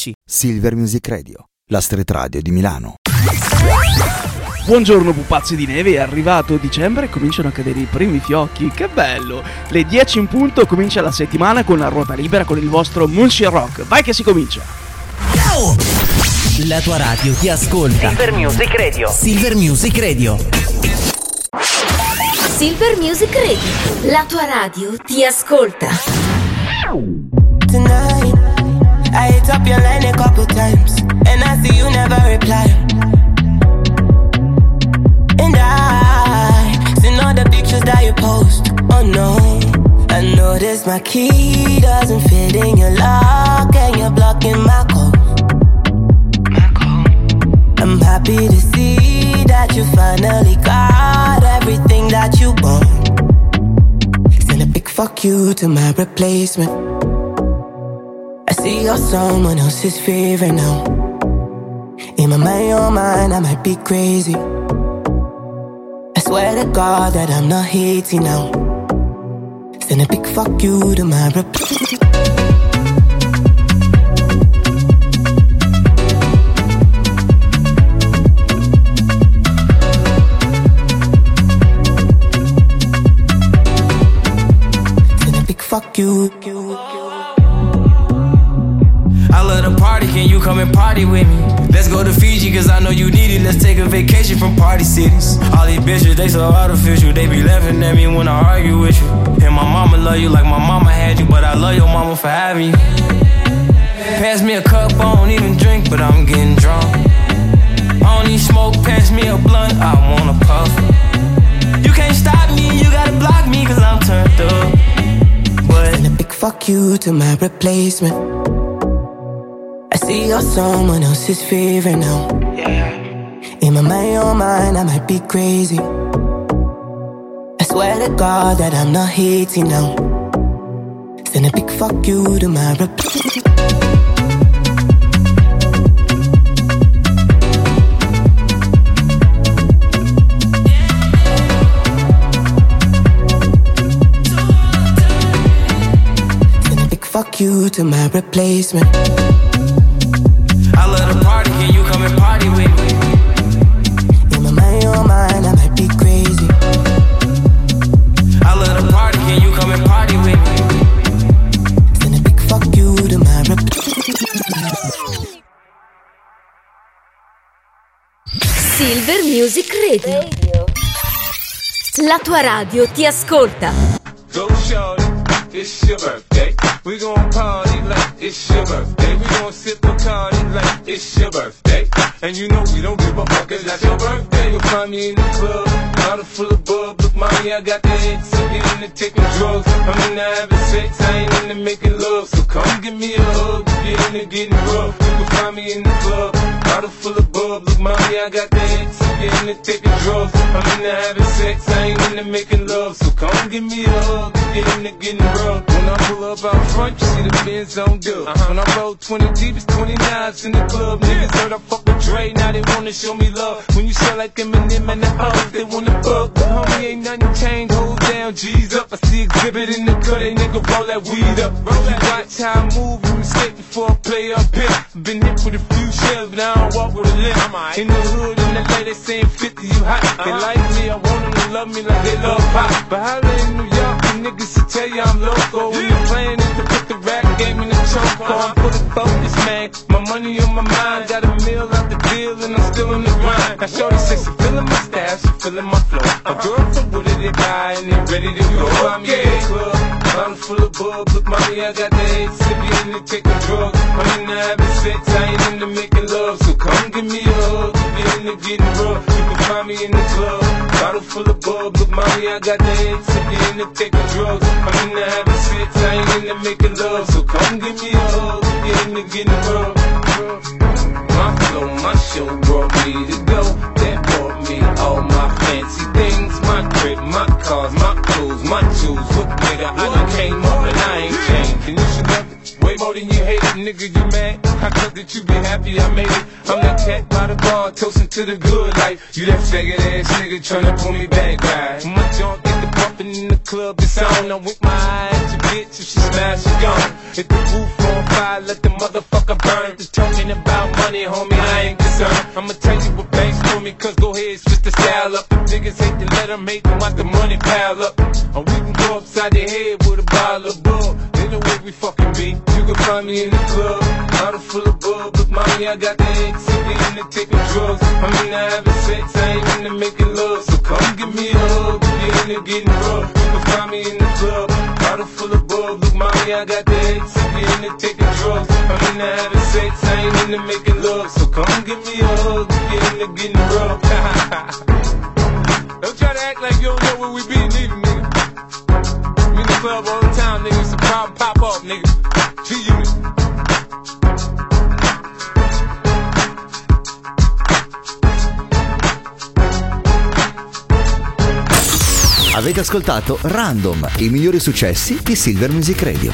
amici. Silver Music Radio, la street radio di Milano. Buongiorno pupazzi di neve, è arrivato dicembre e cominciano a cadere i primi fiocchi, che bello! Le 10 in punto comincia la settimana con la ruota libera con il vostro Muncie Rock, vai che si comincia! La tua radio ti ascolta. Silver Music Radio. Silver Music Radio. Silver Music Radio, la tua radio ti ascolta. Tonight, I hit up your line a couple times, and I see you never reply. And I seen all the pictures that you post. Oh no, I noticed my key doesn't fit in your lock, and you're blocking my call. I'm happy to see that you finally got everything that you want. Send a big fuck you to my replacement. I see you're someone else's favorite now. In my mind, your mind, I might be crazy. I swear to God that I'm not hating now. Send a big fuck you to my replacement. Fuck you. I love the party, can you come and party with me? Let's go to Fiji, cause I know you need it. Let's take a vacation from party cities. All these bitches, they so artificial. They be laughing at me when I argue with you. And my mama love you like my mama had you, but I love your mama for having you. Pass me a cup, I don't even drink, but I'm getting drunk. I don't need smoke, pass me a blunt, I wanna puff. You can't stop me, you gotta block me, cause I'm turned up. Send a big fuck you to my replacement. I see you're someone else's favorite now. In my mind, your mind, I might be crazy. I swear to God that I'm not hating now. Send a big fuck you to my replacement. Fuck you to my replacement. I love the party, can you come and party with me? In my mind, your mind, I might be crazy. I love the party, can you come and party with me? Send a big fuck you to my replacement. Silver Music Radio. La tua radio ti ascolta. Go shorty, it's your birthday. We gon' party like it's your birthday. We gon' sip a party like it's your birthday. And you know we don't give a fuck, it's not your birthday. You'll find me in the club, bottle full of bub. Look, mommy, I got the head, so get into taking drugs. I'm into having sex, I ain't into making love. So come give me a hug, get into getting rough. You can find me in the club, bottle full of bub. Look, mommy, I got the head, so get into taking drugs. I'm into having sex, I ain't into making love. So come give me a hug, get into getting rough. When I pull up out front, you see the Benz on dub. When I roll 20 deep, it's 29s in the club. Niggas heard I fuck with Dre, now they wanna show me love. When you sell like Eminem and the O's, they wanna fuck. But homie, ain't nothing changed, hold down, G's up. I see exhibit in the cut, they nigga roll that weed up. You watch how I move, you mistake before I play up here. Been hit with a few shells, but I don't walk with a limp. In the hood, in the LA, they saying 50, you hot. They like me, I want them to love me like they love pop. But holla in New York, the niggas will tell you I'm loco. When the plan is to put the rap game in the choke. I'm fully focused, man. My money on my mind, got a meal out the deal, and I'm still in the grind. Now shorty says she feeling my style, she feeling my flow. A girl from Wooded, they guy, and they ready to go. I'm in the club, bottle full of bub. Look, mommy, I got the head, sippy in the taking drugs. I'm in the having sex, I ain't into making love. So come give me a hug, get into getting rough. You can find me in the club, bottle full of bub. Look, mommy, I got the head, sippy in the taking drugs. I'm in the having sex, I ain't into making love. So come give me a hug, get into getting rough. My flow, my show brought me to go. That brought me all my fancy things. My crib, my cars, my clothes, my shoes. Look, nigga, I done came up and I ain't changed. And you should love it way more than you hate it, nigga, you mad? I thought that you be happy I made it. I'm that cat by the bar, toasting to the good life. You that faggot ass nigga tryna pull me back, right? My junk get the bumpin' in the club, it's on. I wink my eye at your bitch, if she smash, she gone. If the roof on fire, let the motherfucker burn. Just talking about money, homie, I ain't concerned. I'ma tell you what banks for me, cause go ahead, switch the style up. The niggas hate to let them hate them, watch the money pile up. Or we can go upside their head with a bottle of bug. They know where we fucking be. You can find me in the club, bottle full of bug. But mommy, I got the XCD into taking drugs. I'm into having sex, I ain't into making love. So come give me a hug if you're into getting rough. You can find me in the club, bottle full of bug. Look, mommy, I got the XCD into taking drugs. I'm into having sex, I ain't into making love. So come give me a hug if you're into getting rough. Don't try to act like you don't know where we be, neither, nigga. We in the club all the time, nigga. It's a problem, pop up, nigga. G-Unit. Avete ascoltato Random, i migliori successi di Silver Music Radio.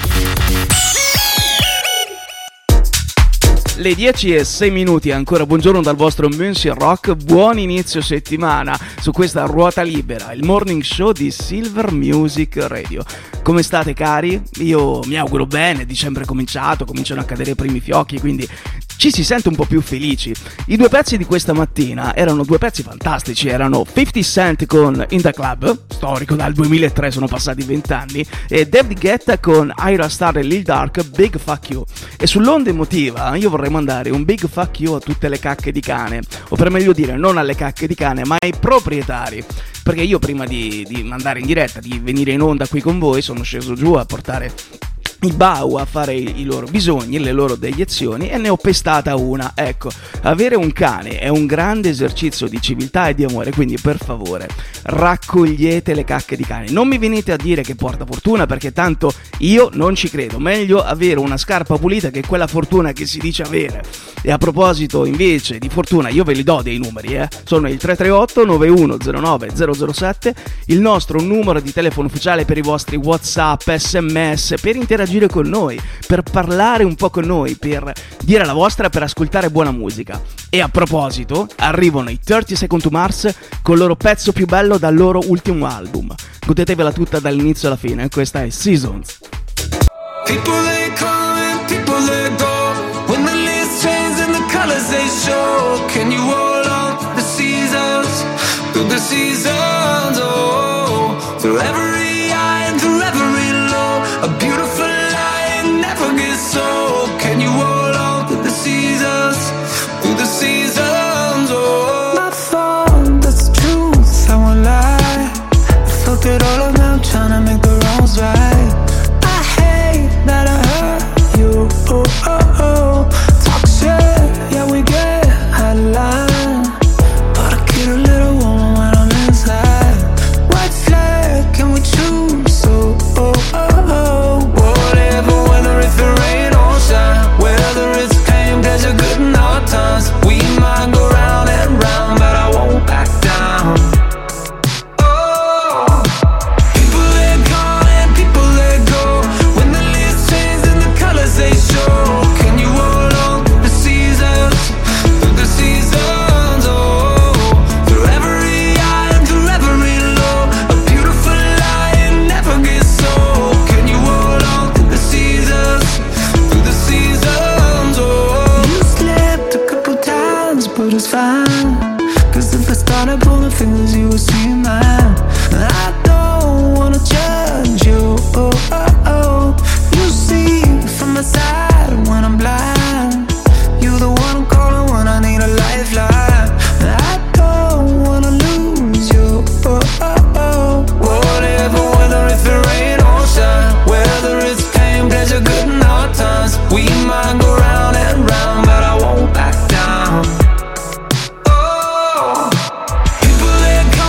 Le 10:06, ancora buongiorno dal vostro Monsieur Rock, buon inizio settimana su questa ruota libera, il morning show di Silver Music Radio. Come state cari? Io mi auguro bene, dicembre è cominciato, cominciano a cadere i primi fiocchi, quindi ci si sente un po' più felici. I due pezzi di questa mattina erano due pezzi fantastici, erano 50 Cent con In The Club, storico dal 2003, sono passati 20 anni, e David Guetta con Ira Star e Lil Durk, Big Fuck You. E sull'onda emotiva io vorrei mandare un big fuck you a tutte le cacche di cane, o per meglio dire non alle cacche di cane ma ai proprietari, perché io prima di mandare in diretta, di venire in onda qui con voi, sono sceso giù a portare i bau a fare i loro bisogni, le loro deiezioni, e ne ho pestata una. Ecco, avere un cane è un grande esercizio di civiltà e di amore, quindi per favore raccogliete le cacche di cane, non mi venite a dire che porta fortuna, perché tanto io non ci credo. Meglio avere una scarpa pulita che quella fortuna che si dice avere. E a proposito invece di fortuna, io ve li do dei numeri, sono il 338 9109 007, il nostro numero di telefono ufficiale per i vostri WhatsApp, SMS, per interagire con noi, per parlare un po' con noi, per dire la vostra, per ascoltare buona musica. E a proposito, arrivano i 30 Seconds to Mars con il loro pezzo più bello dal loro ultimo album. Godetevela tutta dall'inizio alla fine, questa è Seasons. People they come and people they go, when the leaves change and the colors they show. Can you hold on to the seasons, through the seasons, oh, through every high and through every low, a beautiful light never gets old. Can you hold on to the seasons, through the seasons, oh. My fault, that's the truth, I won't lie. I fucked it all up now, trying to make the wrongs right. I hate that I hurt you, oh, oh, oh. Talk shit, yeah, we get out of line, but I get a little warm when I'm inside. White flag, can we choose? So, oh, oh, oh. Whatever, whether it's the rain or shine, whether it's pain, pleasure, good and hard times, we might go round and round, but I won't back down. Oh, people they come and people they go, when the leaves change and the colors they show. Can you hold on to the seasons, through the seasons, oh, through every high and through every low, a beautiful light never gets old. Can you hold on to the seasons, through the seasons, oh. You slipped a couple times, but it's fine, 'cause if I started pulling fingers you would see mine. I don't wanna judge you, oh, oh, oh. You see from the side when I'm blind, you're the one I'm calling when I need a lifeline. I don't wanna lose you, oh, oh, oh. Whatever, whether it's the rain or shine, whether it's pain, pleasure, good and hard times, we might go round and round, but I won't back down. Oh, people they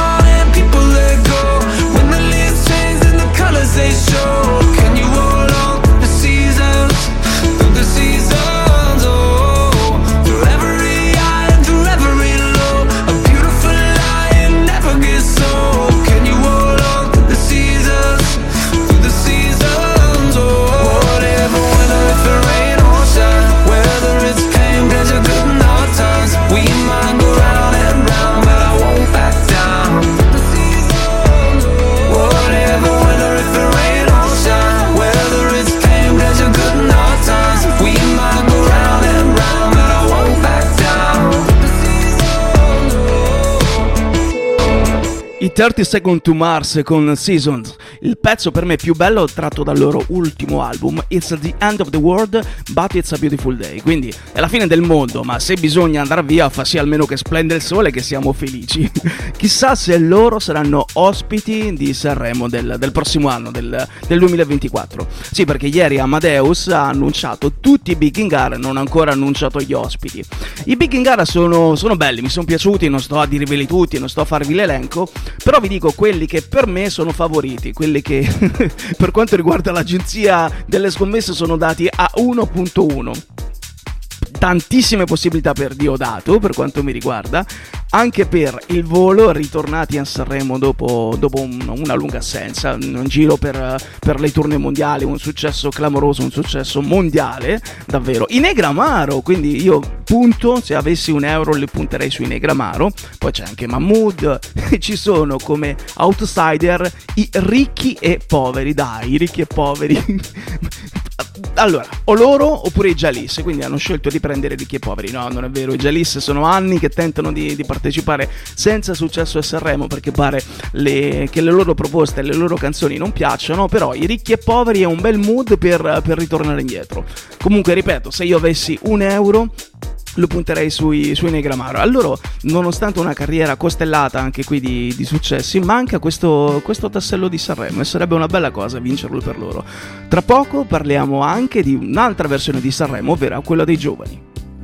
30 Seconds to Mars con Seasons, il pezzo per me più bello tratto dal loro ultimo album, It's the End of the World but It's a Beautiful Day. Quindi è la fine del mondo, ma se bisogna andare via fa sì almeno che splende il sole, che siamo felici. Chissà se loro saranno ospiti di Sanremo del prossimo anno, del 2024. Sì, perché ieri Amadeus ha annunciato tutti i Big in Gara, non ha ancora annunciato gli ospiti. I Big in Gara sono belli, mi sono piaciuti, non sto a dirveli tutti, non sto a farvi l'elenco, però vi dico quelli che per me sono favoriti, quelli che per quanto riguarda l'agenzia delle scommesse sono dati a 1.1. Tantissime possibilità per Diodato per quanto mi riguarda, anche per il volo, ritornati a Sanremo dopo una lunga assenza, un giro per le tournée mondiali, un successo clamoroso, un successo mondiale davvero. I Negramaro, quindi io punto, se avessi €1 li punterei sui Negramaro. Poi c'è anche Mahmood e ci sono come outsider i Ricchi e Poveri. Dai, i Ricchi e Poveri. Allora, o loro oppure i Jalis, quindi hanno scelto di prendere Ricchi e Poveri. No, non è vero, i Jalis sono anni che tentano di partecipare senza successo a Sanremo, perché pare che le loro proposte e le loro canzoni non piacciono, però i Ricchi e Poveri è un bel mood per ritornare indietro. Comunque, ripeto, se io avessi €1 lo punterei sui Negramaro. Allora, nonostante una carriera costellata anche qui di successi, manca questo tassello di Sanremo e sarebbe una bella cosa vincerlo per loro. Tra poco parliamo anche di un'altra versione di Sanremo, ovvero quella dei giovani.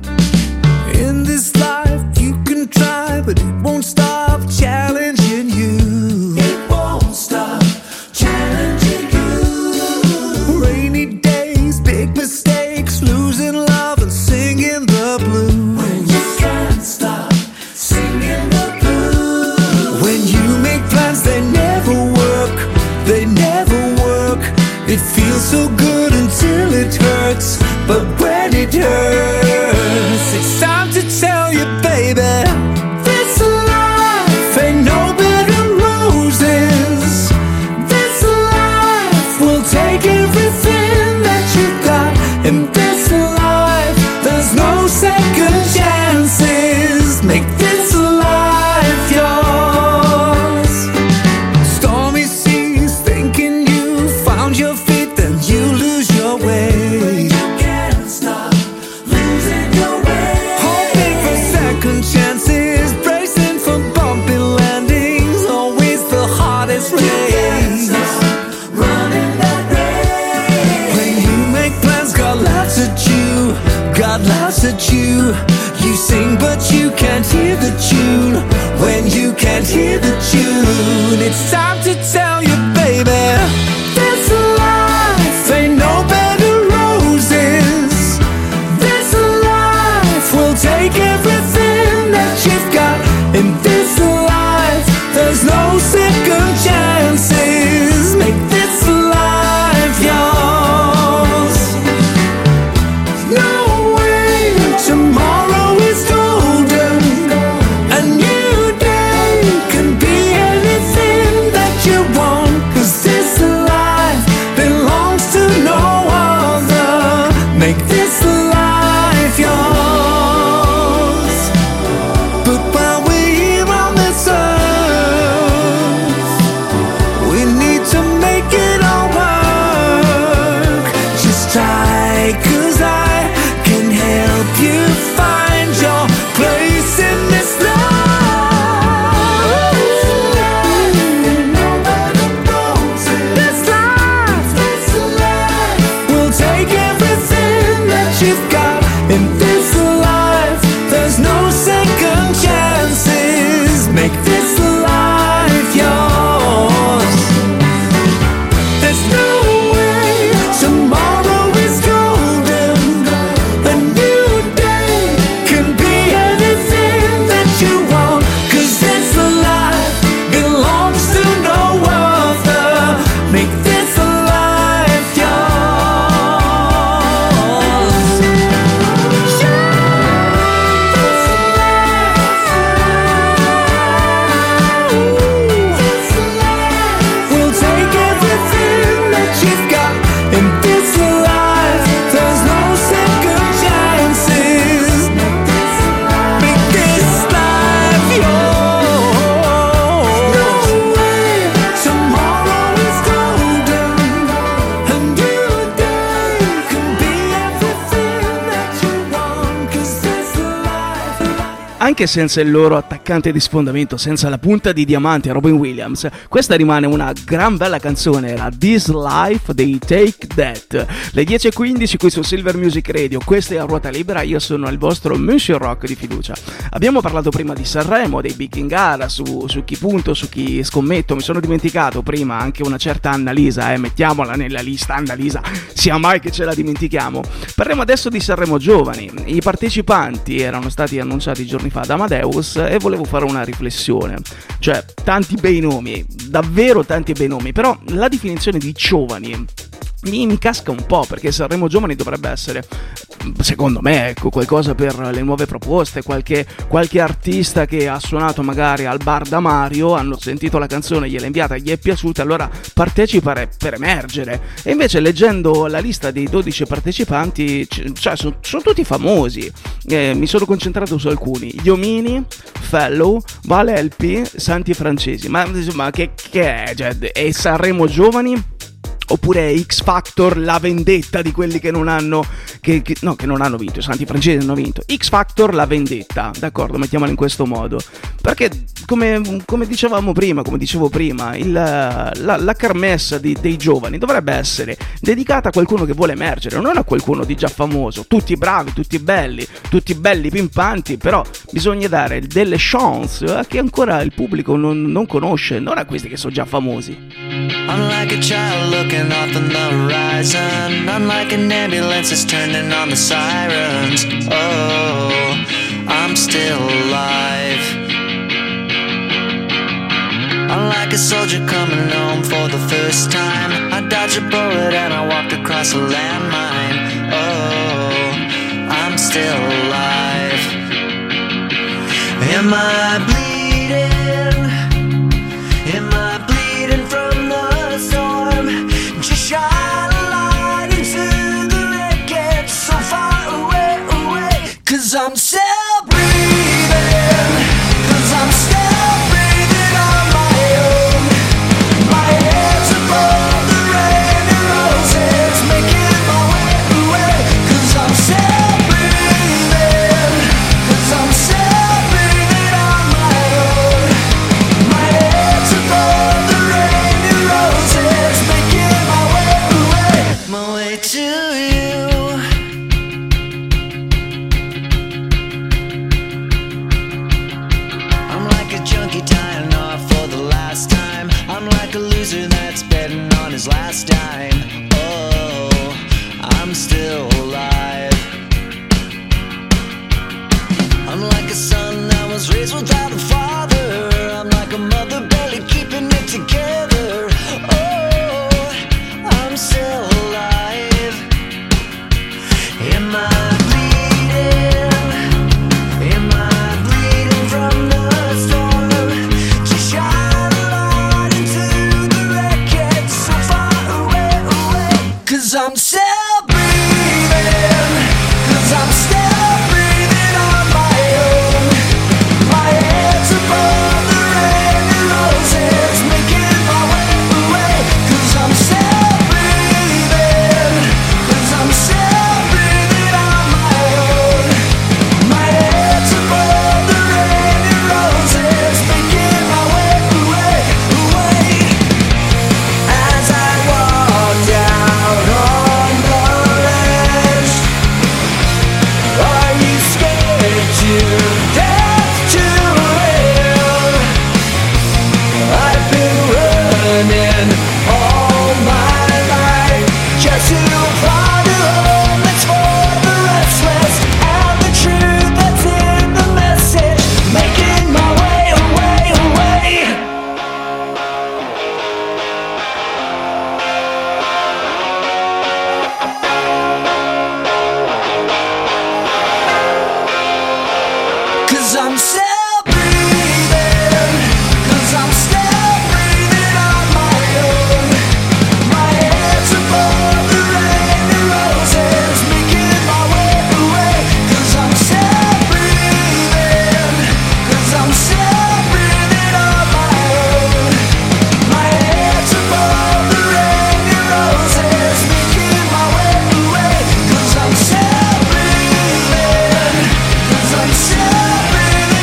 In this life you can try, but it won't stop challenging you. It won't stop challenging you. Rainy days, big mistakes, losing love and singing the blues. When you can't stop singing the blues. When you make plans, they never work. They never work. It feels so good until it hurts. But when it hurts, it's time to tell you, baby, this life ain't no bed of roses. This life will take everything that you got. In this life, there's no second chances. Make this life yours. Stormy seas, thinking you found your feet, then you lose your way. Chances, bracing for bumpy landings, always the hardest race. Running that race. When you make plans, God laughs at you. God laughs at you. You sing, but you can't hear the tune. When you can't hear the tune, it's time to tell you, baby, this life ain't no bed of roses. This life will take everything that you've got. In this life, there's no second chances. Make this life yours. No way, tomorrow is golden. A new day can be anything that you want. 'Cause this life belongs to no other. Make this life yours. Anche senza il loro attaccante di sfondamento, senza la punta di diamante Robin Williams, questa rimane una gran bella canzone, era This Life dei Take That. Le 10:15 qui su Silver Music Radio, questa è A Ruota Libera, io sono il vostro Monsieur Rock di fiducia. Abbiamo parlato prima di Sanremo, dei Big in gara, su chi punto, su chi scommetto, mi sono dimenticato prima anche una certa Annalisa, mettiamola nella lista Annalisa, sia mai che ce la dimentichiamo. Parliamo adesso di Sanremo Giovani, i partecipanti erano stati annunciati giorni fa da Amadeus e volevo fare una riflessione, cioè tanti bei nomi, davvero tanti bei nomi, però la definizione di giovani mi casca un po', perché Sanremo Giovani dovrebbe essere, secondo me, ecco, qualcosa per le nuove proposte, qualche artista che ha suonato magari al bar da Mario, hanno sentito la canzone, gliel'ha inviata, gli è piaciuta, allora partecipa per emergere. E invece leggendo la lista dei 12 partecipanti, cioè sono tutti famosi, mi sono concentrato su alcuni: Iomini, Fellow, Vale LP, Santi Francesi. Ma che è? Cioè, è Sanremo Giovani? Oppure X Factor, la vendetta di quelli che non hanno che non hanno vinto, i Santi Francesi hanno vinto. X Factor, la vendetta, d'accordo, mettiamola in questo modo, perché come dicevo prima, la kermesse dei giovani dovrebbe essere dedicata a qualcuno che vuole emergere, non a qualcuno di già famoso. Tutti bravi, tutti belli pimpanti, però bisogna dare delle chance a chi ancora il pubblico non conosce, non a questi che sono già famosi. Unlike a child looking off on the horizon, unlike an ambulance that's turning on the sirens. Oh, I'm still alive. Unlike a soldier coming home for the first time, I dodged a bullet and I walked across a landmine. Oh, I'm still alive. Am I bleeding? Am I bleeding from the storm? Just shine a light into the wreckage so far away, away. 'Cause I'm still breathing, 'cause I'm still breathing on my own. My head's above the rain and roses, making my way away. 'Cause I'm still breathing, 'cause I'm still breathing on my own. My head's above the rain and roses, making my way away, my way to you. I'm like a junkie tying off for the last time. I'm like a loser that's betting on his last dime. Oh, I'm still alive. I'm like a son that was raised without a father. I'm like a mother barely keeping it together. Oh, I'm still alive. Am I bleeding? Am I bleeding from the storm? Just shine a light into the wreckage so far away, away. 'Cause I'm still breathing, 'cause I'm still breathing on my own. My head's above the rain and roses, making my way away. 'Cause I'm still breathing, 'cause I'm still breathing on my own. My head's above the rain and roses, making my way away, away. As I walk down on the ledge, are you scared to death to live? I've been running all my life just to find a home that's for the restless, and the truth that's in the message, making my way away, away. Cause I'm still breathing, cause I'm still breathing on my own. My head's above the rain and roses, making my way away. Cause I'm still breathing, cause I'm still breathing on my own. My head's above the rain and roses, making my way away. Cause I'm still breathing, cause I'm still breathing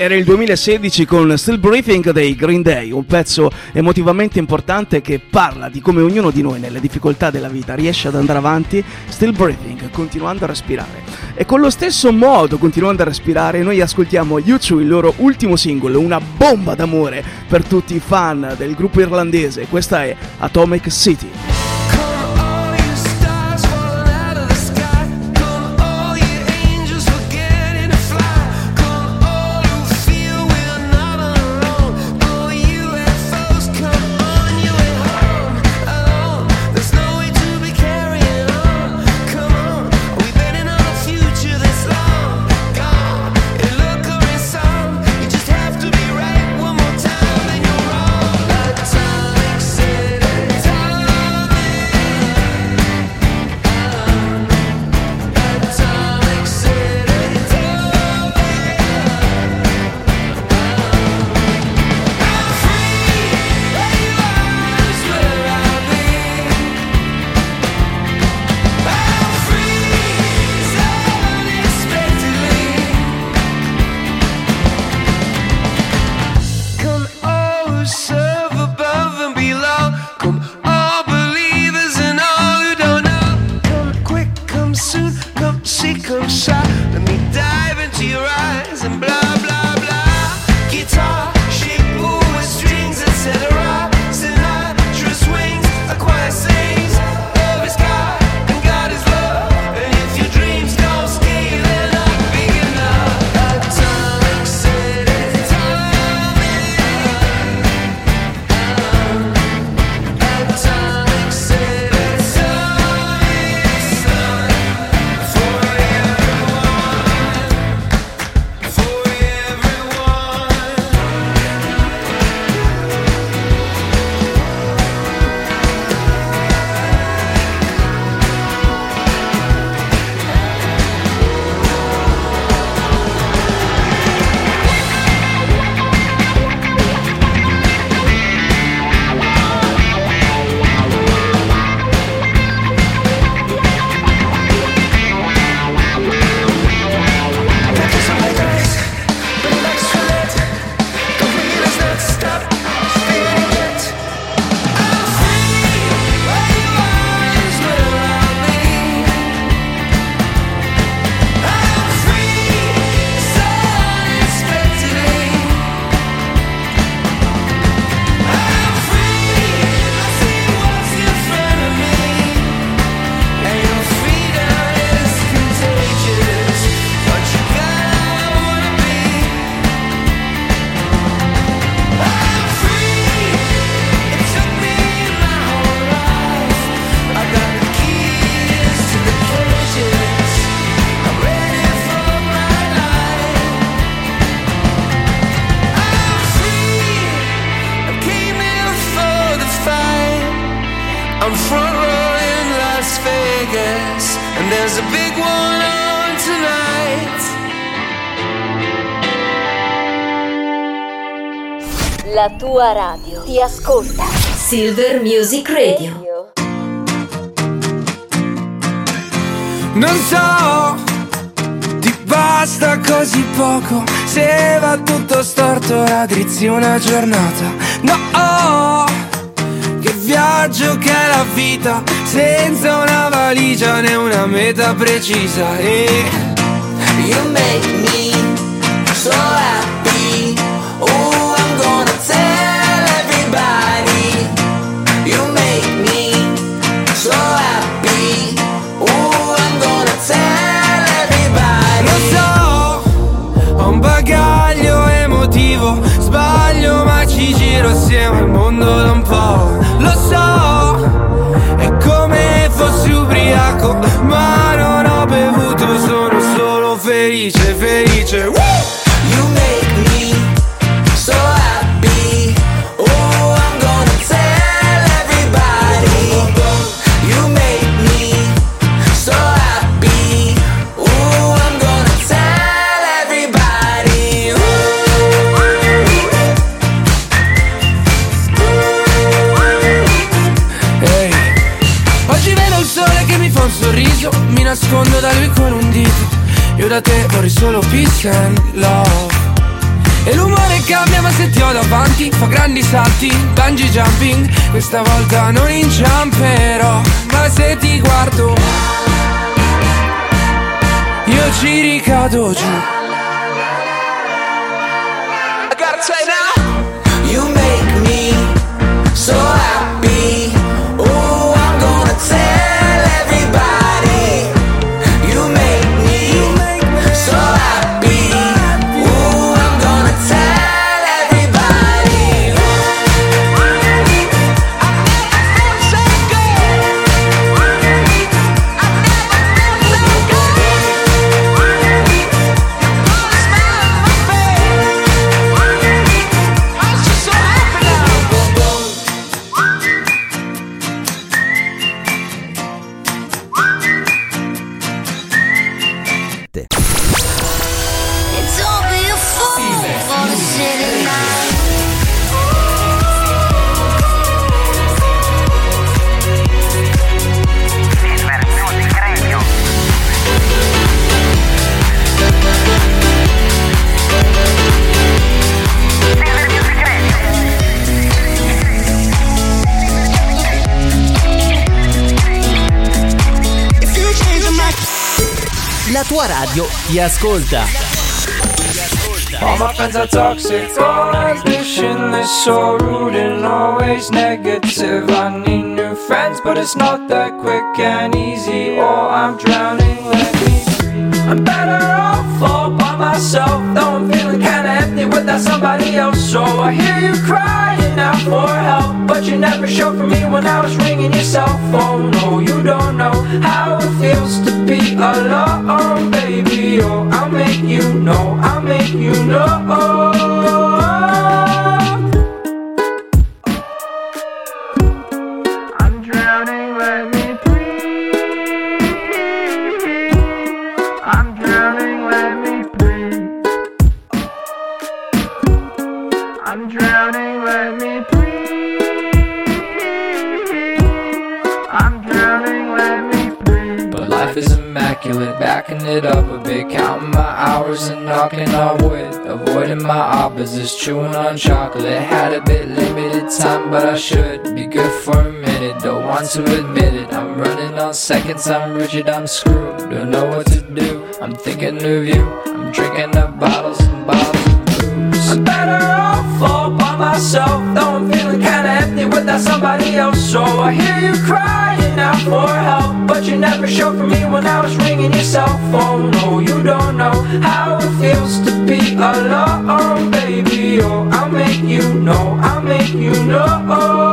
Era il 2016 con Still Breathing dei Green Day, un pezzo emotivamente importante che parla di come ognuno di noi nelle difficoltà della vita riesce ad andare avanti, still breathing, continuando a respirare. E con lo stesso modo, continuando a respirare, noi ascoltiamo U2, il loro ultimo singolo, una bomba d'amore per tutti i fan del gruppo irlandese. Questa è Atomic City. La tua radio ti ascolta. Silver Music Radio. Non so, ti basta così poco. Se va tutto storto raddrizzi una giornata. No, che viaggio che è la vita, senza una valigia né una meta precisa. E you make me so happy. Oh, I'm gonna tell everybody. You make me so happy. Oh, I'm gonna tell everybody. Lo so, ho un bagaglio emotivo. Sbaglio ma ci giro assieme al mondo da un po'. Lo so, è come fossi ubriaco, ma non ho bevuto, sono solo felice, felice. Woo! You make me so happy. Oh, I'm gonna tell everybody. You make me so happy. Oh, I'm gonna tell everybody. Hey. Oggi vedo il sole che mi fa un sorriso, mi nascondo da lui con un dito. Io da te vorrei solo peace and love. E l'umore cambia ma se ti ho davanti fa grandi salti, bungee jumping. Questa volta non inciamperò, ma se ti guardo io ci ricado giù. I gotta say now, you make me so happy. Oh, I'm gonna tell everybody. You make me so happy. Oh, I'm gonna tell everybody. It's all be a fool for the city lights. La tua radio ti ascolta. All my friends are toxic, all ambitionless, so rude and always negative. I need new friends, but it's not that quick and easy. Oh, I'm drowning, let me breathe. I'm better off all by myself, though I'm feeling kinda empty without somebody else. So I hear you crying out for help, but you never showed for me when I was ringing your cell phone. No, you don't know how it feels to be alone, baby. Oh, I'll make you know, I'll make you know. I'm drowning, let me breathe. I'm drowning, let me breathe. I'm drowning, let me breathe. I'm drowning, let me breathe. But life is immaculate, backing it up a bit, counting my hours and knocking on wood, avoiding my opposites, chewing on chocolate. Had a bit limited time, but I should be good for a minute. Don't want to admit it, I'm running on seconds, I'm rigid, I'm screwed. Don't know what to do, I'm thinking of you. I'm drinking up bottles and bottles of booze. I'm better off all by myself, though I'm feeling kinda empty without somebody else. So I hear you crying out for help, but you never showed for me when I was ringing your cell phone. No, you don't know how it feels to be alone, baby. Oh, I'll make you know, I'll make you know.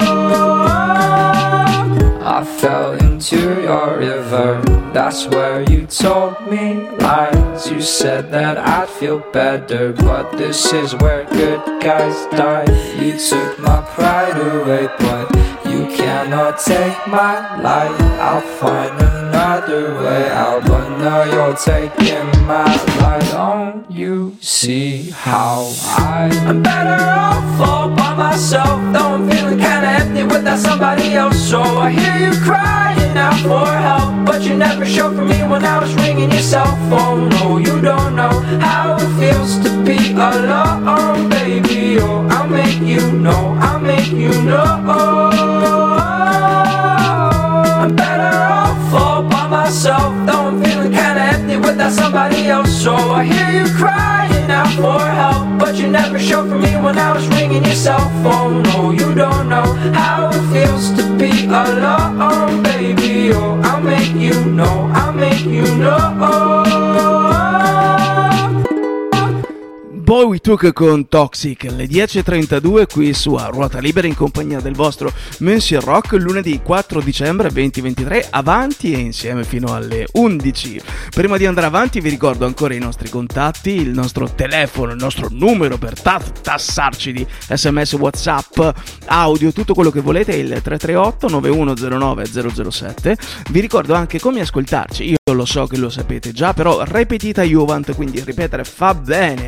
I fell into your river, that's where you told me lies. You said that I'd feel better, but this is where good guys die. You took my pride away, but you cannot take my life. I'll find another way out, but now you're taking my life. Don't you see how I'm better off all by myself, though I'm feeling kinda empty without somebody else. So I hear you crying out for help, but you never showed for me when I was ringing your cell phone. No, you don't know how it feels to be alone, baby. Oh, I'll make you know, I'll make you know. I'm better off all by myself, though I'm feeling kinda empty without somebody else. So I hear you crying out for help, but you never showed for me when I was ringing your cell phone. No, you don't know how it feels to be alone, baby. Oh, I'll make you know, I'll make you know. Boy Took con Toxic, alle 10.32 qui su A Ruota Libera in compagnia del vostro Monsieur Rock, lunedì 4 dicembre 2023, avanti e insieme fino alle 11. Prima di andare avanti vi ricordo ancora i nostri contatti, il nostro telefono, il nostro numero per tassarci di SMS, WhatsApp, audio, tutto quello che volete è il 338 9109 007. Vi ricordo anche come ascoltarci, io lo so che lo sapete già, però repetita Juvent, quindi ripetere fa bene.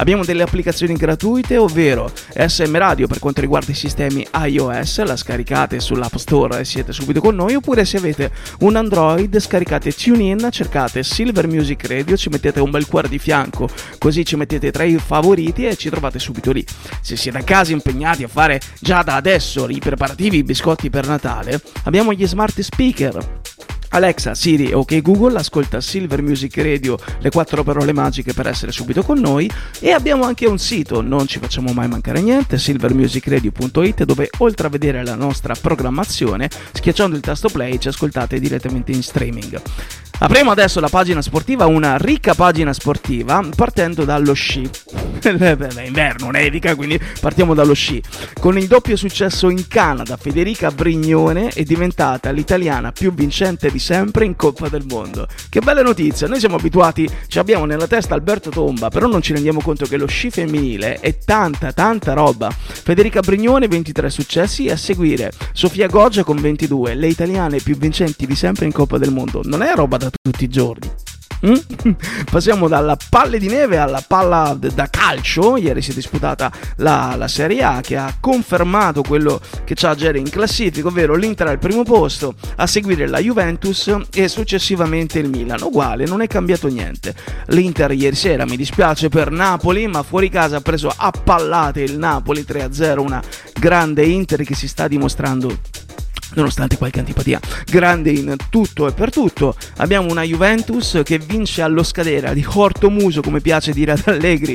Abbiamo delle applicazioni gratuite, ovvero SM Radio per quanto riguarda i sistemi iOS, la scaricate sull'App Store e siete subito con noi, oppure se avete un Android scaricate TuneIn, cercate Silver Music Radio, ci mettete un bel cuore di fianco, così ci mettete tra i favoriti e ci trovate subito lì. Se siete a casa impegnati a fare già da adesso i preparativi, i biscotti per Natale, abbiamo gli smart speaker. Alexa, Siri, ok Google, ascolta Silver Music Radio, le 4 parole magiche per essere subito con noi, e abbiamo anche un sito, non ci facciamo mai mancare niente, silvermusicradio.it, dove oltre a vedere la nostra programmazione, schiacciando il tasto play ci ascoltate direttamente in streaming. Apriamo adesso la pagina sportiva, una ricca pagina sportiva, partendo dallo sci. È inverno, nevica, quindi partiamo dallo sci. Con il doppio successo in Canada, Federica Brignone è diventata l'italiana più vincente di sempre in Coppa del Mondo. Che bella notizia, noi siamo abituati, ci abbiamo nella testa Alberto Tomba, però non ci rendiamo conto che lo sci femminile è tanta roba. Federica Brignone 23 successi, e a seguire Sofia Goggia con 22, le italiane più vincenti di sempre in Coppa del Mondo. Non è roba da tutti i giorni. Passiamo dalla palle di neve alla palla da calcio. Ieri si è disputata la Serie A, che ha confermato quello che c'ha Geri in classifica, ovvero l'Inter al primo posto, a seguire la Juventus e successivamente il Milan. Uguale, non è cambiato niente. L'Inter ieri sera, mi dispiace per Napoli, ma fuori casa ha preso a pallate il Napoli 3-0, una grande Inter che si sta dimostrando, nonostante qualche antipatia, grande in tutto e per tutto. Abbiamo una Juventus che vince allo Scadera di Ortomuso, come piace dire ad Allegri,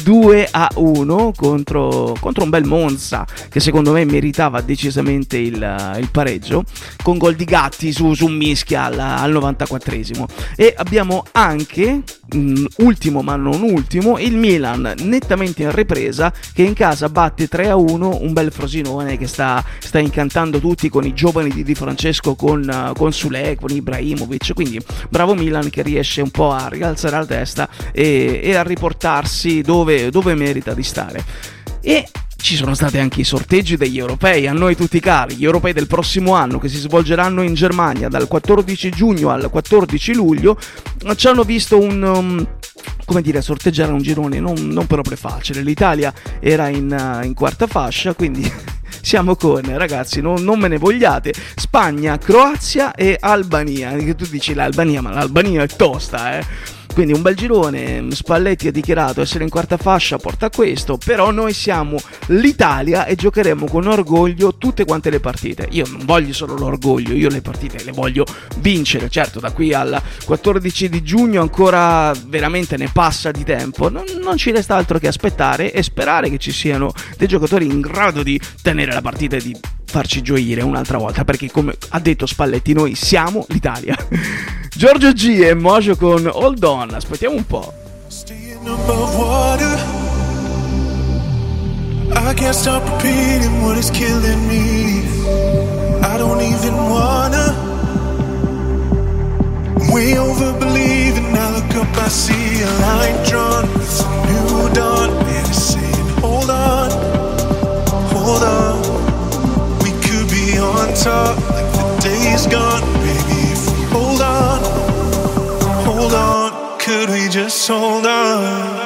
2-1 contro un bel Monza che secondo me meritava decisamente il pareggio, con gol di Gatti su Mischia al 94esimo. E abbiamo anche, ultimo ma non ultimo, il Milan nettamente in ripresa, che in casa batte 3-1 un bel Frosinone che sta incantando tutti con i giovani di Di Francesco, con Sule, con Ibrahimovic. Quindi bravo Milan, che riesce un po' a rialzare la testa e a riportarsi dove merita di stare. E ci sono stati anche i sorteggi degli europei, a noi tutti cari, gli europei del prossimo anno, che si svolgeranno in Germania dal 14 giugno al 14 luglio. Ci hanno visto sorteggiare un girone non proprio facile. L'Italia era in quarta fascia, quindi siamo con, ragazzi, non me ne vogliate, Spagna, Croazia e Albania. Che tu dici l'Albania, ma l'Albania è tosta, Quindi un bel girone. Spalletti ha dichiarato essere in quarta fascia, porta a questo, però noi siamo l'Italia e giocheremo con orgoglio tutte quante le partite. Io non voglio solo l'orgoglio, io le partite le voglio vincere. Certo, da qui al 14 di giugno ancora veramente ne passa di tempo, non ci resta altro che aspettare e sperare che ci siano dei giocatori in grado di tenere la partita e di farci gioire un'altra volta, perché come ha detto Spalletti noi siamo l'Italia. Giorgio G e Mojo con Hold On, aspettiamo un po'. I can't stop repeating what is killing me. I don't even wanna. I'm way over believing. I look up, I see a line drawn. It's a new dawn. And it's saying, hold on, hold on. We could be on top like the day's gone. Baby, if we hold on, could we just hold on?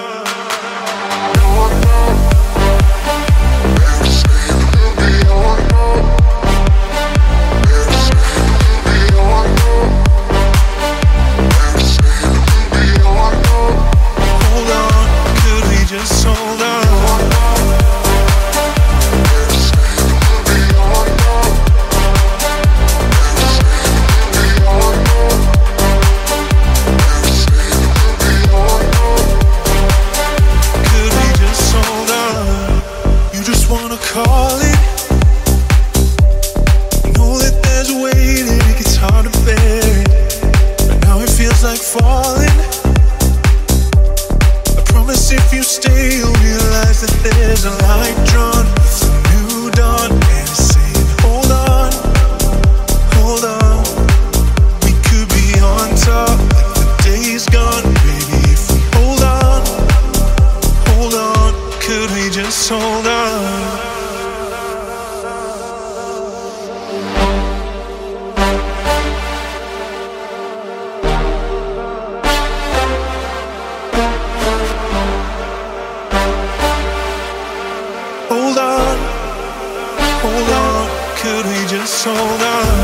could we just hold on?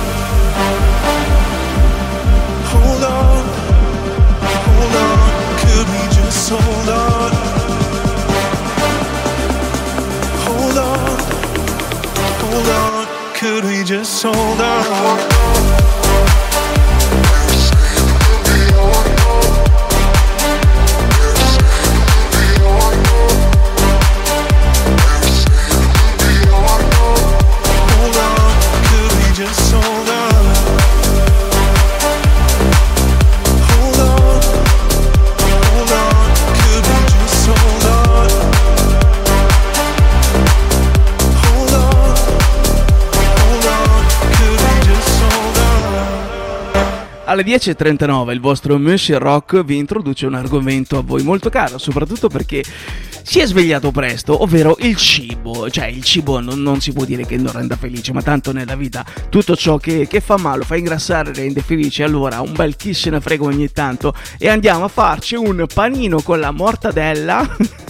Hold on, hold on, could we just hold on? Hold on, hold on, could we just hold on? Alle 10.39 il vostro Monsieur Rock vi introduce un argomento a voi molto caro, soprattutto perché si è svegliato presto, ovvero il cibo. Cioè il cibo non si può dire che non renda felice, ma tanto nella vita tutto ciò che fa male, fa ingrassare, rende felice. Allora un bel chi se ne frega ogni tanto e andiamo a farci un panino con la mortadella.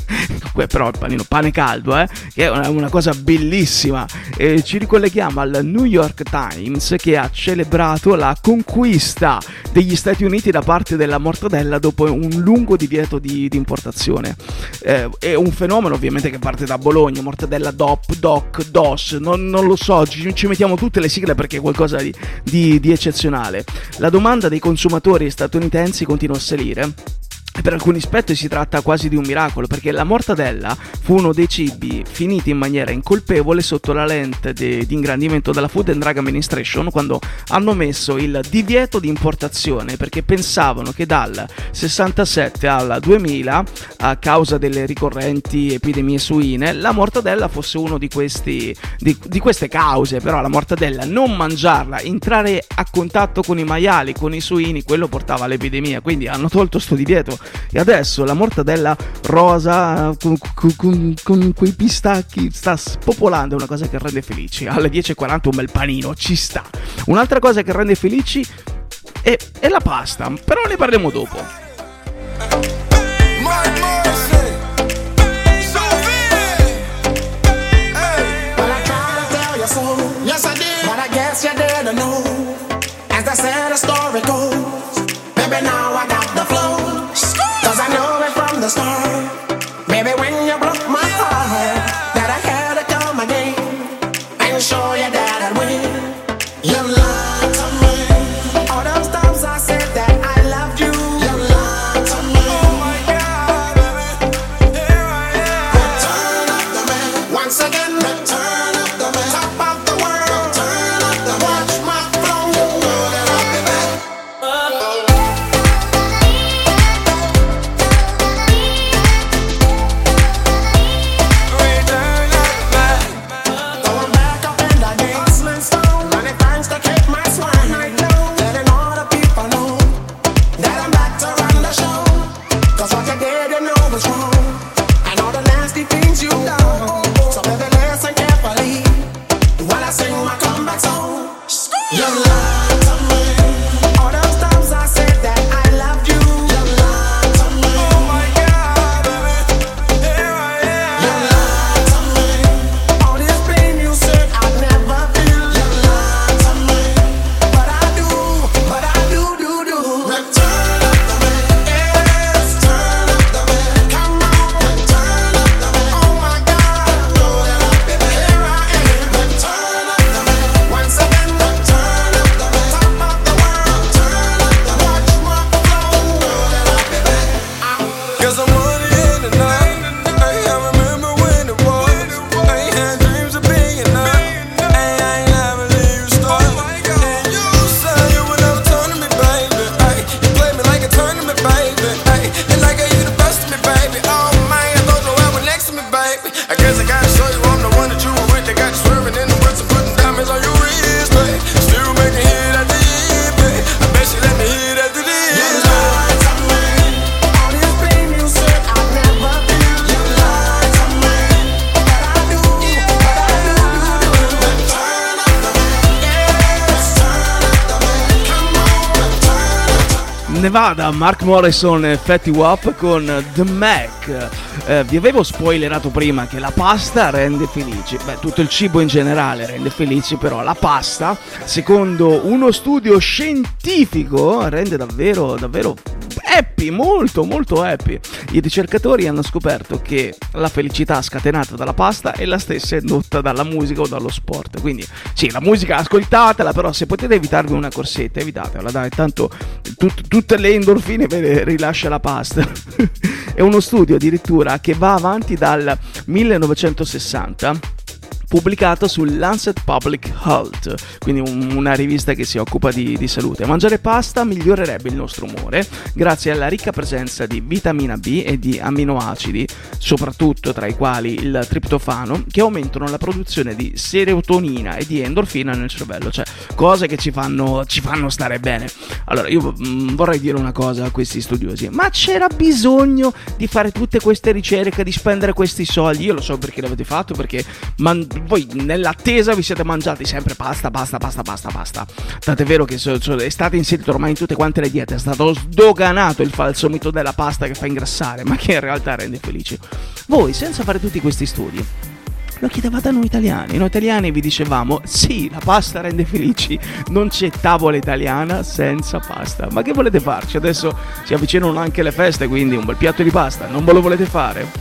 Però il panino, pane caldo, che è una cosa bellissima. Ci ricolleghiamo al New York Times, che ha celebrato la conquista degli Stati Uniti da parte della mortadella dopo un lungo divieto di importazione. È un fenomeno ovviamente che parte da Bologna, mortadella DOP, DOC, DOS, non lo so, ci mettiamo tutte le sigle perché è qualcosa di eccezionale. La domanda dei consumatori statunitensi continua a salire. Per alcuni aspetti si tratta quasi di un miracolo, perché la mortadella fu uno dei cibi finiti in maniera incolpevole sotto la lente di ingrandimento della Food and Drug Administration quando hanno messo il divieto di importazione, perché pensavano che dal 67 al 2000, a causa delle ricorrenti epidemie suine, la mortadella fosse uno di queste cause. Però la mortadella, non mangiarla, entrare a contatto con i maiali, con i suini, quello portava all'epidemia, quindi hanno tolto sto divieto. E adesso la mortadella rosa con quei pistacchi sta spopolando, è una cosa che rende felici. Alle 10.40 un bel panino ci sta. Un'altra cosa che rende felici è la pasta, però ne parliamo dopo. Baby, when you broke my heart, that I had to come again and show you that I'd win. You lied to me. All those times I said that I loved you. You lied to me. Oh my God, baby, here I am. Return of the man. Once again, return of the man. Top of the world. Return of the man. Watch my throne. You know that I'll be back. Nevada, Mark Morrison e Fatty Wap con The Mac. Vi avevo spoilerato prima che la pasta rende felici. Beh, tutto il cibo in generale rende felici, però la pasta, secondo uno studio scientifico, rende davvero happy, molto molto happy. I ricercatori hanno scoperto che la felicità scatenata dalla pasta è la stessa indotta dalla musica o dallo sport. Quindi sì, la musica ascoltatela, però se potete evitarvi una corsetta, evitatela, dai, tanto tutte le endorfine ve le rilascia la pasta. È uno studio addirittura che va avanti dal 1960, pubblicato sul Lancet Public Health, quindi una rivista che si occupa di salute. Mangiare pasta migliorerebbe il nostro umore grazie alla ricca presenza di vitamina B e di aminoacidi, soprattutto tra i quali il triptofano, che aumentano la produzione di serotonina e di endorfina nel cervello, cioè cose che ci fanno stare bene. Allora io vorrei dire una cosa a questi studiosi: ma c'era bisogno di fare tutte queste ricerche, di spendere questi soldi? Io lo so perché l'avete fatto, perché voi nell'attesa vi siete mangiati sempre pasta. Tant'è vero che è stato inserito ormai in tutte quante le diete, è stato sdoganato il falso mito della pasta che fa ingrassare, ma che in realtà rende felici. Voi, senza fare tutti questi studi, lo chiedevate a noi italiani. Noi italiani vi dicevamo: sì, la pasta rende felici, non c'è tavola italiana senza pasta. Ma che volete farci? Adesso si avvicinano anche le feste, quindi un bel piatto di pasta, non ve lo volete fare?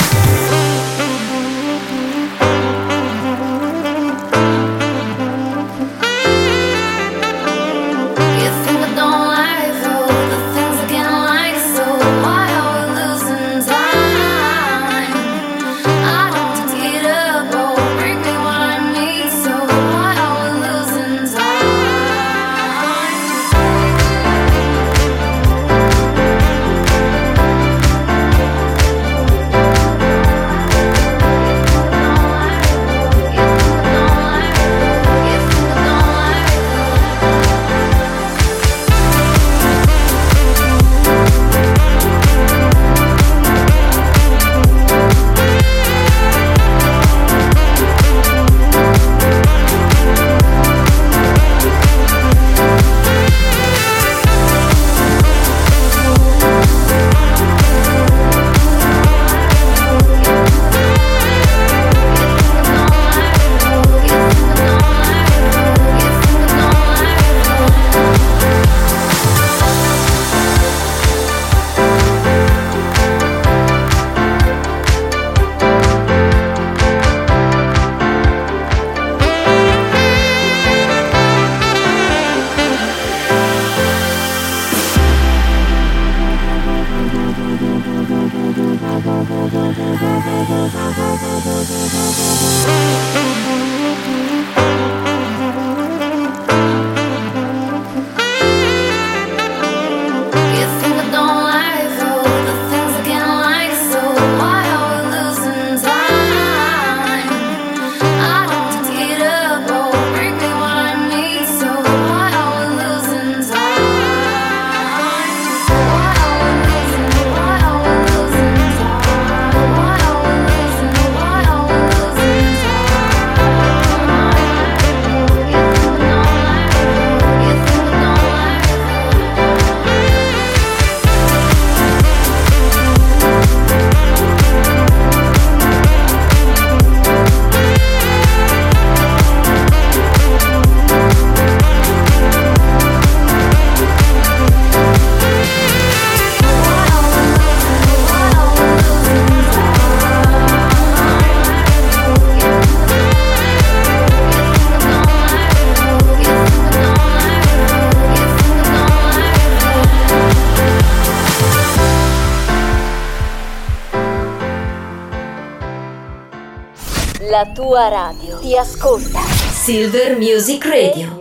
La tua radio ti ascolta. Silver Music Radio.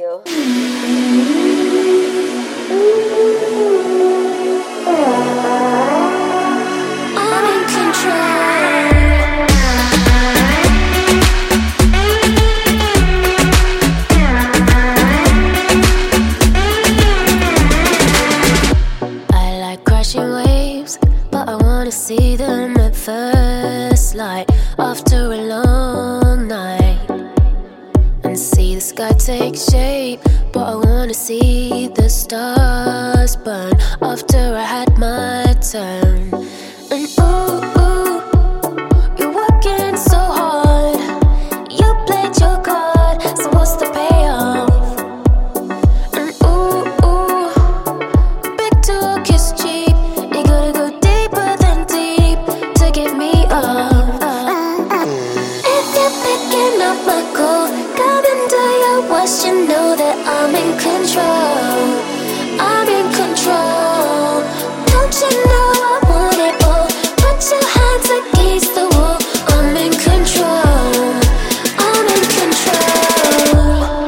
I'm in control. I like crashing waves, but I wanna see them at first light after a long night, and see the sky take take shape, but I wanna see the stars burn after I had my turn. And ooh, you're working so hard. You played your card, so what's the payoff? And ooh, big talk is cheap. You gotta go deeper than deep to get me off. If you're picking up my call, coming to your watch, you know that I'm in control. I'm in control. Don't you know I want it all? Put your hands against the wall. I'm in control. I'm in control.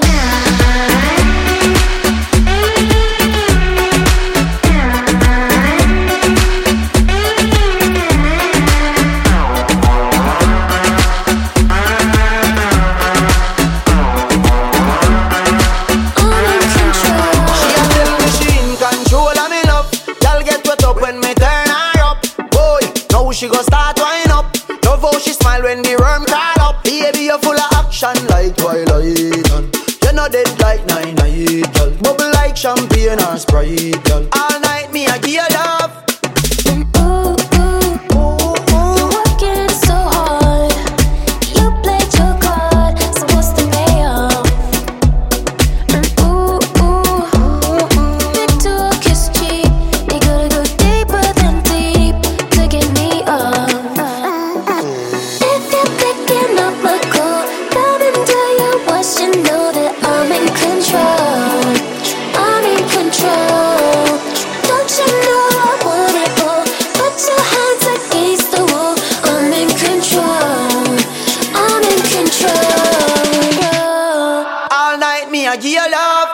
She gon' start wind up. Love how she smile when the worm crawl up. Baby, you're full of action like Twilight. And you're not dead like 9-9, girl. Bubble like champagne or Sprite, girl. All night me I give you love. You're working so hard. You played your card, so what's the payoff? And big talk is cheap. You gotta go deeper than deep to get me off. If you're picking up my call, coming to your watch, you know that I'm in control. I'm in control. Don't you know I want it all? Put your hands against the wall. I'm in control. I'm in control. All night me I give you love.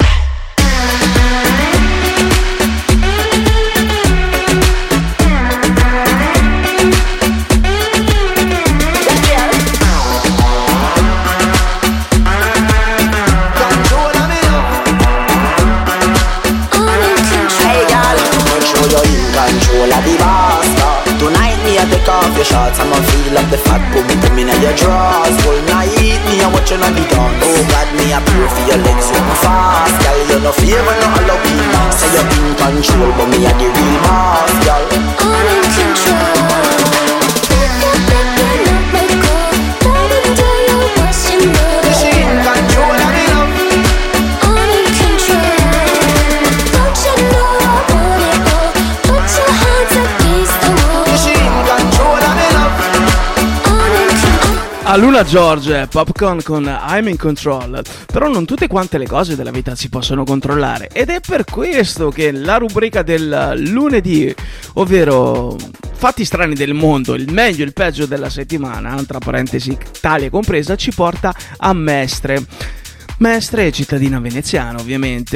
Control of the master. Tonight me I take off your shorts. I'ma feel up the fat boom in your drawers. Whole night me I watching on the dance. Oh God, me I pray for your legs so fast. Girl, you no favor, no Halloween. Say you're in control, but me I the real boss, girl. I'm in control. If you're picking up my call, coming to your watch, you know that she in control of me love. I'm in control. Don't you know I want it all? Put your hands against the wall. She in control of me love. I'm in control. A Luna George, Popcorn con I'm in Control. Però non tutte quante le cose della vita si possono controllare, ed è per questo che la rubrica del lunedì, ovvero fatti strani del mondo, il meglio e il peggio della settimana, tra parentesi Italia compresa, ci porta a Mestre. Mestre è cittadina veneziana, ovviamente,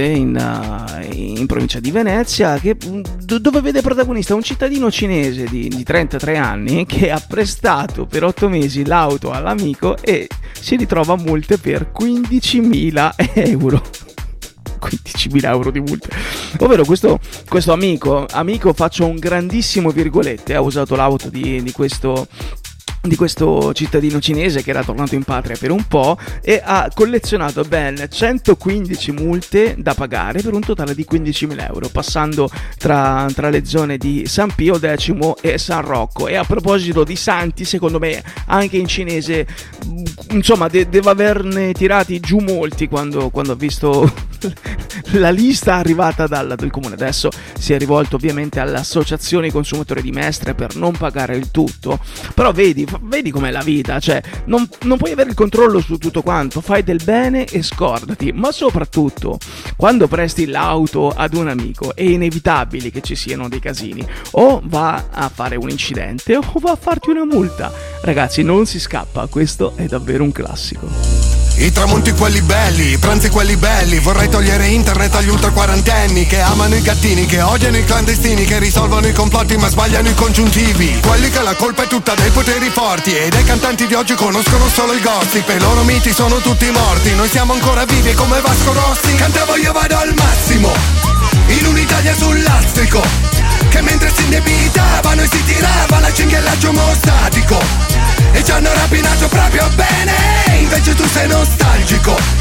in provincia di Venezia, dove vede protagonista un cittadino cinese di 33 anni che ha prestato per 8 mesi l'auto all'amico e si ritrova multe per 15.000 euro. 15.000 euro di multe. Ovvero questo amico, faccio un grandissimo virgolette, ha usato l'auto di questo cittadino cinese che era tornato in patria per un po' e ha collezionato ben 115 multe da pagare per un totale di 15.000 euro, passando tra le zone di San Pio X e San Rocco. E a proposito di santi, secondo me anche in cinese, insomma, deve averne tirati giù molti quando ha visto la lista arrivata dal comune. Adesso si è rivolto ovviamente all'associazione consumatori di Mestre per non pagare il tutto, però vedi com'è la vita, cioè non puoi avere il controllo su tutto quanto, fai del bene e scordati. Ma soprattutto quando presti l'auto ad un amico è inevitabile che ci siano dei casini, o va a fare un incidente o va a farti una multa. Ragazzi, non si scappa, questo è davvero un classico. I tramonti quelli belli, i pranzi quelli belli. Vorrei togliere internet agli ultra quarantenni che amano i gattini, che odiano i clandestini, che risolvono i complotti ma sbagliano i congiuntivi. Quelli che la colpa è tutta dei poteri forti e dei cantanti di oggi conoscono solo il gossip. E i loro miti sono tutti morti, noi siamo ancora vivi come Vasco Rossi. Cantavo io vado al massimo, in un'Italia sul lastrico, che mentre si indebitavano e si tirava la cinghiallaggio mostatico e ci hanno rapinato proprio bene. Invece tu sei nostalgico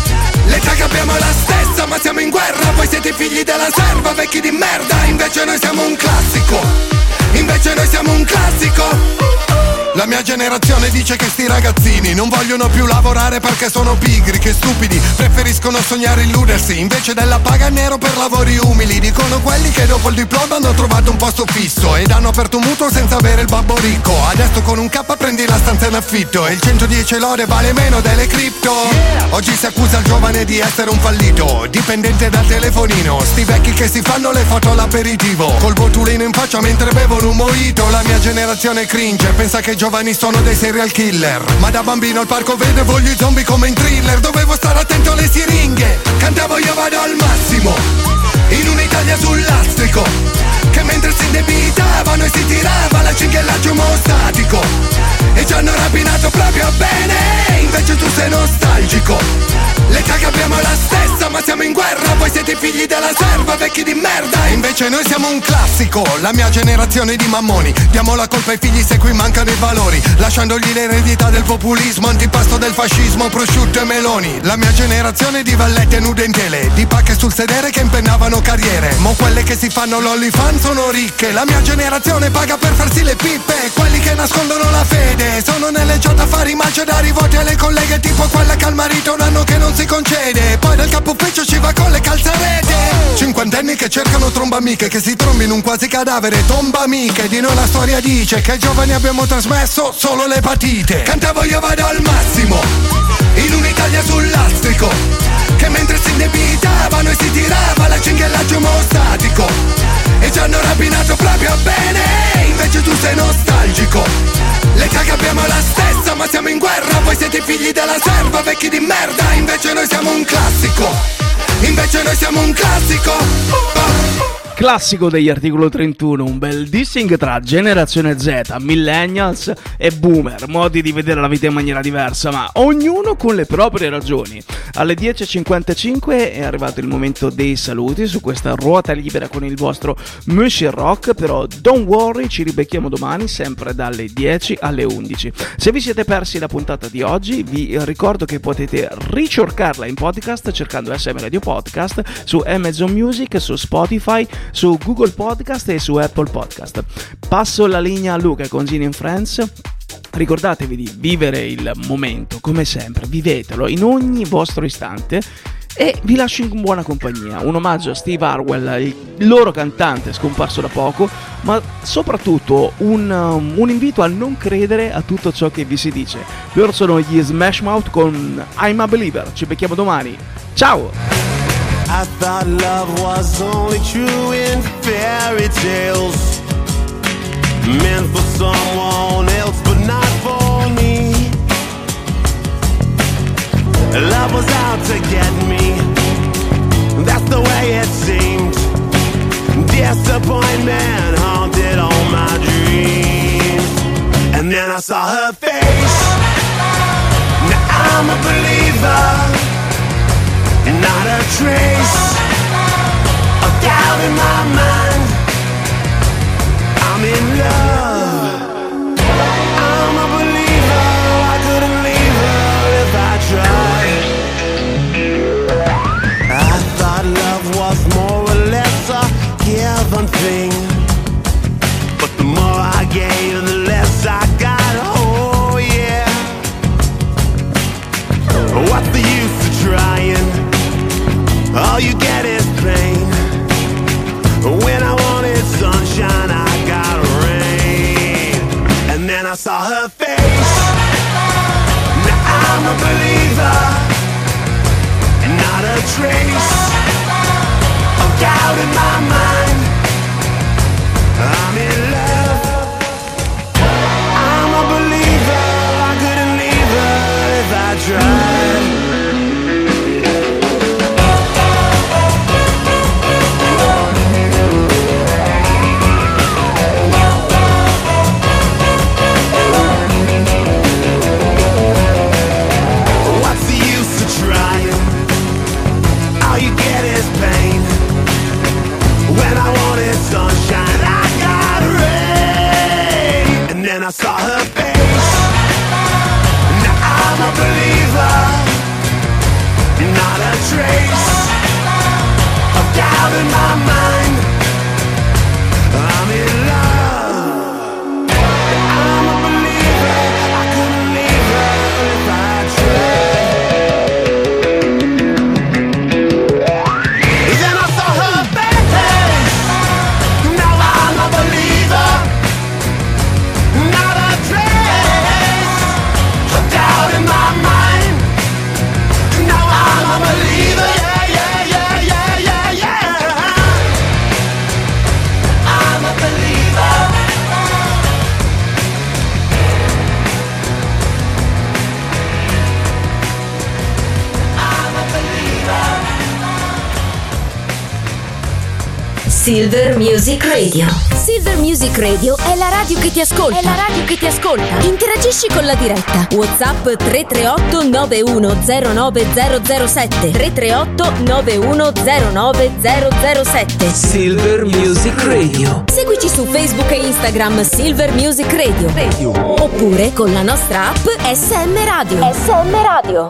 L'età che abbiamo è la stessa, ma siamo in guerra. Voi siete figli della serva, vecchi di merda. Invece noi siamo un classico. Invece noi siamo un classico. La mia generazione dice che sti ragazzini non vogliono più lavorare perché sono pigri, che stupidi, preferiscono sognare e illudersi invece della paga nero per lavori umili. Dicono quelli che dopo il diploma hanno trovato un posto fisso ed hanno aperto un mutuo senza avere il babbo ricco. Adesso con un K prendi la stanza in affitto e il 110 lode vale meno delle cripto. Oggi si accusa il giovane di essere un fallito, dipendente dal telefonino. Sti vecchi che si fanno le foto all'aperitivo, col botulino in faccia mentre bevono un mojito. La mia generazione cringe, pensa che i giovani sono dei serial killer, ma da bambino al parco vedevo gli zombie come in thriller. Dovevo stare attento alle siringhe, cantavo io vado al massimo, in un'Italia sul lastrico, che mentre si indebitavano e si tirava la cinghiallaggio omostatico. E ci hanno rapinato proprio bene, invece tu sei nostalgico. L'età che abbiamo è la stessa, ma siamo in guerra. Voi siete figli della serva, vecchi di merda. Invece noi siamo un classico, la mia generazione di mammoni. Diamo la colpa ai figli se qui mancano i valori, lasciandogli l'eredità del populismo, antipasto del fascismo, prosciutto e meloni. La mia generazione di vallette nude in tele, di pacche sul sedere che impennavano carriere. Mo quelle che si fanno l'OnlyFans sono ricche. La mia generazione paga per farsi le pippe. Quelli che nascondono la fede sono nelle chat a fare i macedari, voti alle colleghe tipo quella che al marito un anno che non si concede. Poi dal capo ufficio ci va con le calzarete. Cinquantenni che cercano trombamiche, che si trombi in un quasi cadavere. Tomba amiche, di noi la storia dice che ai giovani abbiamo trasmesso solo l'epatite. Cantavo io vado al massimo, in un'Italia sul lastrico, che mentre si indebitavano e si tirava la cinghiallaggio omostatico. E ci hanno rapinato proprio bene, invece tu sei nostalgico. L'età che abbiamo è la stessa, ma siamo in guerra. Voi siete figli della serva, vecchi di merda. Invece noi siamo un classico. Invece noi siamo un classico. Classico degli Articolo 31, un bel dissing tra generazione Z, millennials e boomer, modi di vedere la vita in maniera diversa, ma ognuno con le proprie ragioni. Alle 10.55 è arrivato il momento dei saluti su questa ruota libera con il vostro Monsieur Rock, però don't worry, ci ribecchiamo domani sempre dalle 10 alle 11. Se vi siete persi la puntata di oggi, vi ricordo che potete ricercarla in podcast cercando SM Radio Podcast su Amazon Music, su Spotify, su Google Podcast e su Apple Podcast. Passo la linea a Luca con Gin and Friends. Ricordatevi di vivere il momento, come sempre, vivetelo in ogni vostro istante e vi lascio in buona compagnia. Un omaggio a Steve Harwell, il loro cantante scomparso da poco, ma soprattutto un invito a non credere a tutto ciò che vi si dice. Loro sono gli Smash Mouth con I'm a Believer. Ci becchiamo domani. Ciao! I thought love was only true in fairy tales, meant for someone else but not for me. Love was out to get me, that's the way it seemed. Disappointment haunted all my dreams. And then I saw her face. Now I'm a believer. Not a trace of doubt in my mind. I'm in love. I'm a believer. I couldn't leave her if I tried. I thought love was more or less a given thing, but the more I gave, the less I got. Oh yeah. What's the use of trying? All you get is pain. When I wanted sunshine, I got rain. And then I saw her face. Now I'm a believer. Not a trace of doubt in my mind. I'm in love. I'm a believer. I couldn't leave her if I tried. Sunshine, I got rain. And then I saw her face. Now I'm a believer. Not a Silver Music Radio. Silver Music Radio è la radio che ti ascolta. Interagisci con la diretta. WhatsApp 338 9109007. 338 9109007. Silver Music Radio. Seguici su Facebook e Instagram Silver Music Radio. Oppure con la nostra app SM Radio. SM Radio.